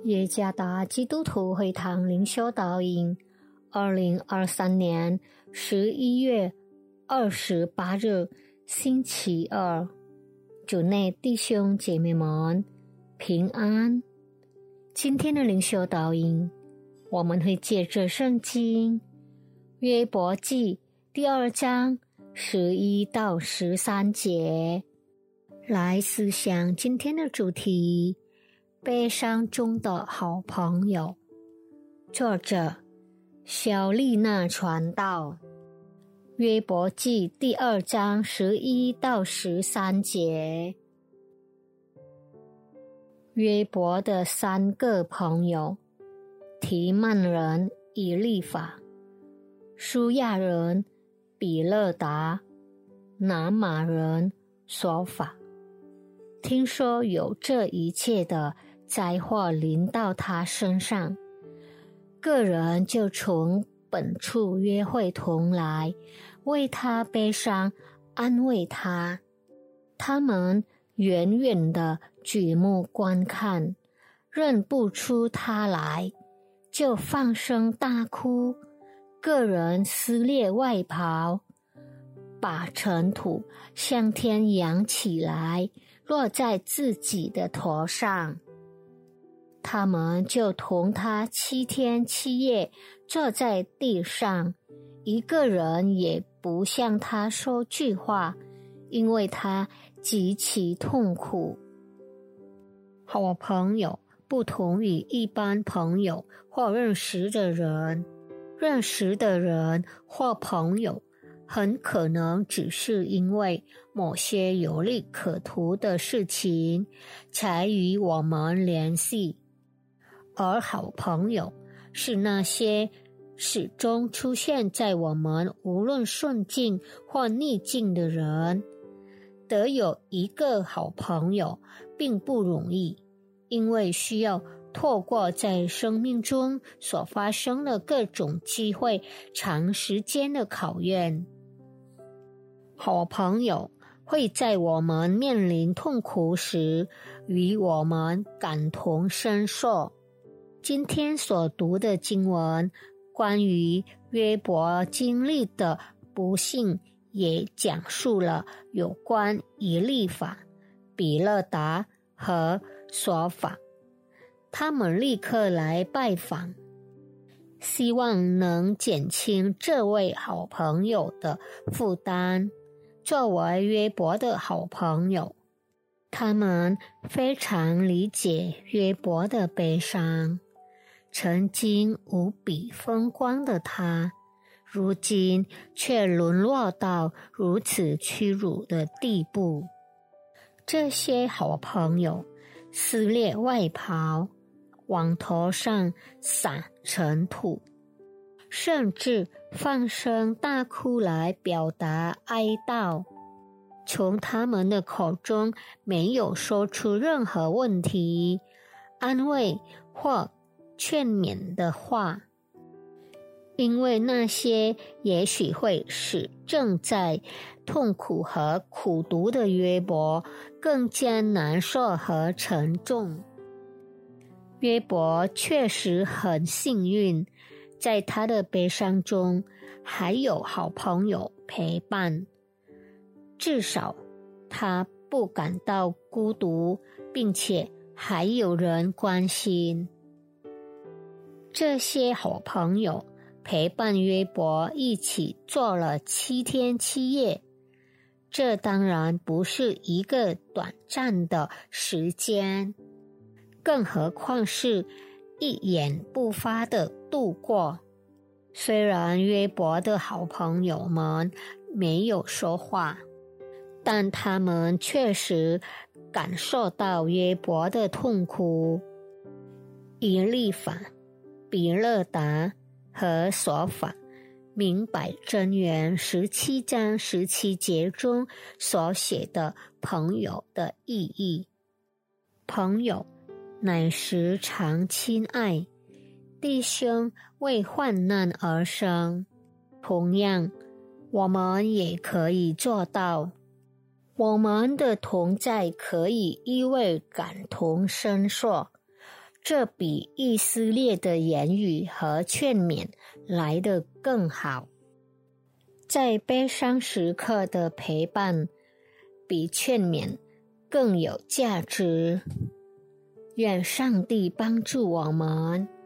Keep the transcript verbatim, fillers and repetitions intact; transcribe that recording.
耶加达基督徒会堂灵修导引，二零二三年十一月二十八日，星期二。主内弟兄姐妹们平安。今天的灵修导引，我们会借着圣经约伯记第二章十一到十三节来思想今天的主题：悲伤中的好朋友。作者小丽娜传道。约伯记第二章十一到十三节。约伯的三个朋友：提曼人以利法、舒亚人比勒达、拿玛人索法。听说有这一切的灾祸临到他身上，个人就从本处约会同来，为他悲伤，安慰他。他们远远地举目观看，认不出他来，就放声大哭。个人撕裂外袍，把尘土向天扬起来，落在自己的头上。他们就同他七天七夜坐在地上，一个人也不向他说句话，因为他极其痛苦。好朋友不同于一般朋友或认识的人，认识的人或朋友很可能只是因为某些有利可图的事情才与我们联系，而好朋友是那些始终出现在我们无论顺境或逆境的人。得有一个好朋友并不容易，因为需要透过在生命中所发生的各种机会长时间的考验。好朋友会在我们面临痛苦时与我们感同身受。今天所读的经文关于约伯经历的不幸，也讲述了有关以利法、比勒达和索法。他们立刻来拜访，希望能减轻这位好朋友的负担。作为约伯的好朋友，他们非常理解约伯的悲伤。曾经无比风光的他，如今却沦落到如此屈辱的地步。这些好朋友撕裂外袍，往头上撒尘土，甚至放声大哭来表达哀悼。从他们的口中没有说出任何问题、安慰或劝勉的话，因为那些也许会使正在痛苦和苦读的约伯更加难受和沉重。约伯确实很幸运，在他的悲伤中还有好朋友陪伴，至少他不感到孤独，并且还有人关心。这些好朋友陪伴约伯一起坐了七天七夜，这当然不是一个短暂的时间，更何况是一言不发的度过。虽然约伯的好朋友们没有说话，但他们确实感受到约伯的痛苦。以利法、比勒达和索法明白箴言十七章十七节中所写的朋友的意义。朋友乃时常亲爱，弟兄为患难而生。同样，我们也可以做到。我们的同在可以因为感同身受， 这比以色列的言语和劝勉来得更好。在悲伤时刻的陪伴，比劝勉更有价值。愿上帝帮助我们。